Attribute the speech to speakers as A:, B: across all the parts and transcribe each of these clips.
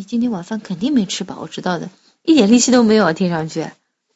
A: 今天晚饭肯定没吃饱，我知道的，一点力气都没有，听上去。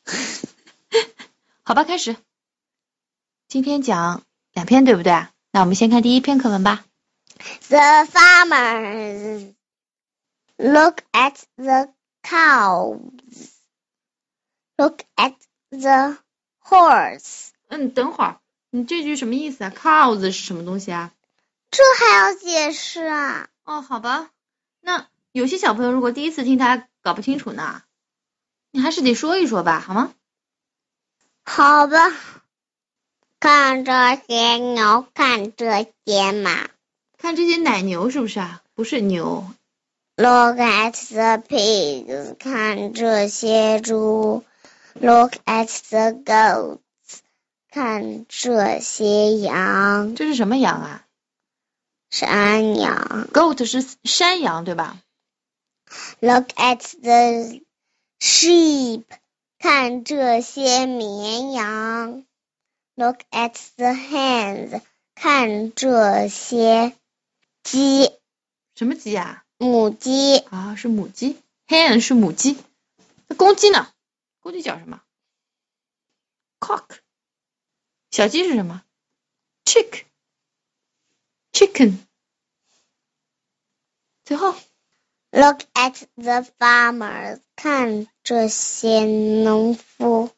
A: 好吧，开始。今天讲2篇，对不对？那我们先看第1篇课文吧。
B: The farmers look at the cows. Look at the horse.
A: 等会儿，你这句什么意思啊 ？Cows 是什么东西啊？
B: 这还要解释啊？
A: 哦，好吧。那有些小朋友如果第一次听他搞不清楚呢，你还是得说一说吧，好吗？
B: 好吧。看这些牛，看这些马。
A: 看这些奶牛是不是啊？不是牛。
B: Look at the pigs. 看这些猪。Look at the goats. 看这些羊。
A: 这是什么羊啊？
B: 山羊。
A: Goat 是山羊对吧？
B: Look at the sheep. 看这些绵羊。Look at the hens. 看这些鸡。
A: 什么鸡啊？
B: 母鸡。
A: 啊，是母鸡。Hen 是母鸡。那公鸡呢？公鸡叫什么？ Cock。小鸡是什么？ Chicken。最后
B: Look at the farmers. 看这些农夫。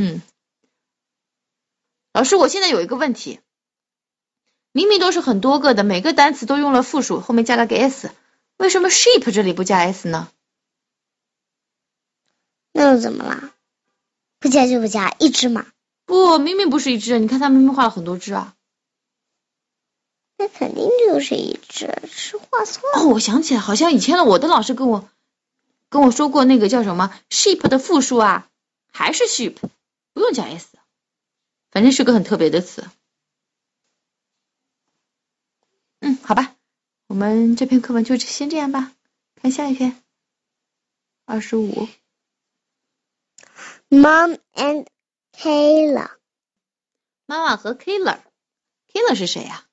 A: 老师，我现在有一个问题，明明都是很多个的，每个单词都用了复数，后面加了个 s， 为什么 sheep 这里不加 s 呢？
B: 那又怎么啦？不加就不加，一只嘛。
A: 不，明明不是一只，你看他明明画了很多只啊。
B: 那肯定就是一只，是画错了。
A: 哦，我想起来，好像以前我的老师跟我说过，那个叫什么 sheep 的复数啊，还是 sheep， 不用加 s， 反正是个很特别的词。好吧，我们这篇课文就先这样吧，看下一篇。25。
B: Mom and Kayla.
A: 妈妈和 Kayla 是谁呀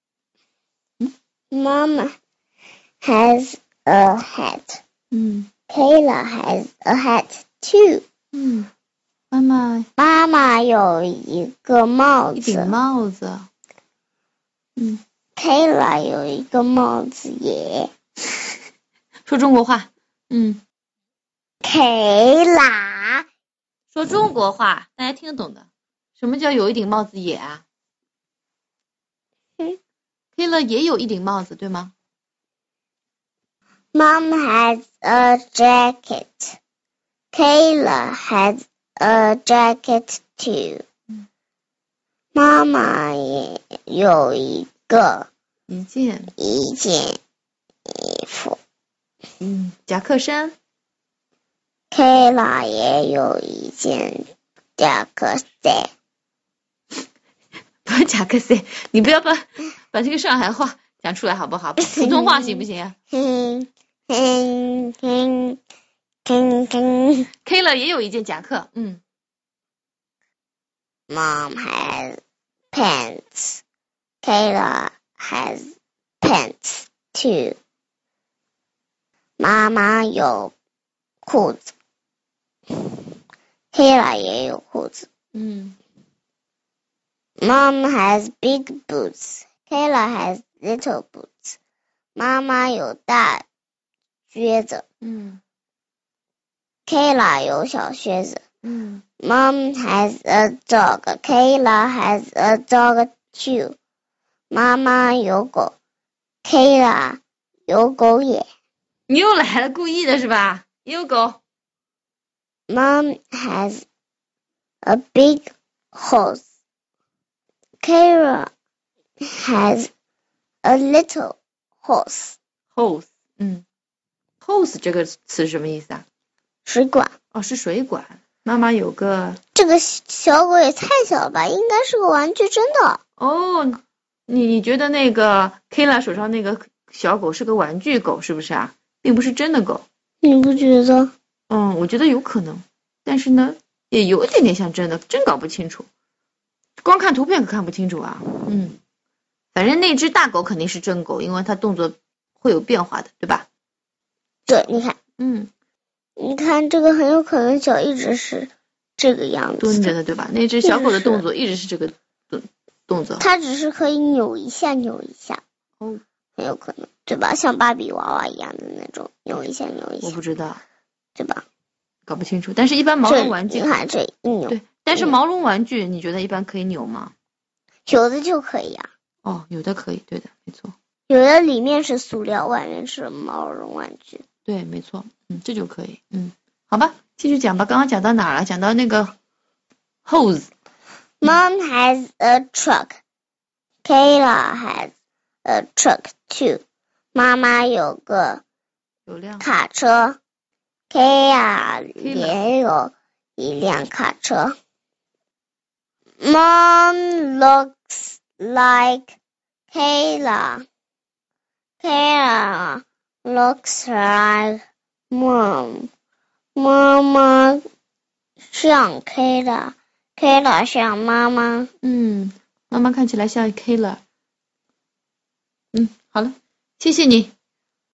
B: ？Mom has a hat. Kayla has a hat too. 妈妈有一个帽子。
A: 一顶帽子。
B: Kayla 有一个帽子也。
A: 说中国话。
B: Kayla
A: 说中国话，大家听得懂的。什么叫有一顶帽子也啊？Kayla 也有一顶帽子，对吗？
B: Mom has a jacket. Kayla has a jacket too. 妈妈也有一件衣服。
A: 夹克衫。
B: Kayla 也有一件夹克衫。
A: 不是夹克衫，你不要把这个上海话讲出来好不好？普通话行不行？Kayla 也有一件夹克。
B: Mom has pants. Kayla has pants too. 妈妈有裤子。Kayla 也有裤子。Mom has big boots. Kayla has little boots. 妈妈有大靴子。Kayla 有小靴子。Mom has a dog. Kayla has a dog too. 妈妈有狗。Kayla 有狗也。
A: 你又来了，故意的是吧？也有狗。
B: Mom has a big horse. Kayla has a little horse.
A: Hose 这个词什么意思啊？
B: 水管。
A: 哦，是水管。妈妈有个。
B: 这个小狗也太小了吧，应该是个玩具，真的。
A: 哦，你觉得那个 Kayla 手上那个小狗是个玩具狗是不是啊？并不是真的狗。
B: 你不觉得？
A: 我觉得有可能，但是呢，也有一点点像真的，真搞不清楚。光看图片可看不清楚啊。反正那只大狗肯定是真狗，因为它动作会有变化的，对吧？
B: 对，你看，
A: 你
B: 看这个很有可能脚一直是这个样子
A: 蹲着的，对吧？那只小狗的动作一直是这个动作。
B: 它只是可以扭一下，
A: 哦，
B: 很有可能，对吧？像芭比娃娃一样的那种，扭一下。
A: 我不知道，
B: 对吧？
A: 搞不清楚。但是一般毛绒玩具，
B: 你看这一扭。
A: 对，但是毛绒玩具你觉得一般可以扭吗？
B: 有的就可以啊。
A: 哦，有的可以，对的，没错。
B: 有的里面是塑料，外面是毛绒玩具。
A: 对，没错，这就可以。好吧，继续讲吧。刚刚讲到哪了？讲到那个 hose。Mom
B: has a truck. Kayla has a truck too. 妈妈有个卡车 Kayla 也有一辆卡车。Mom looks like Kayla. Kayla looks like Mom. 妈妈像 Kayla. Kayla 像妈妈。
A: 妈妈看起来像 Kayla。好了，谢谢你。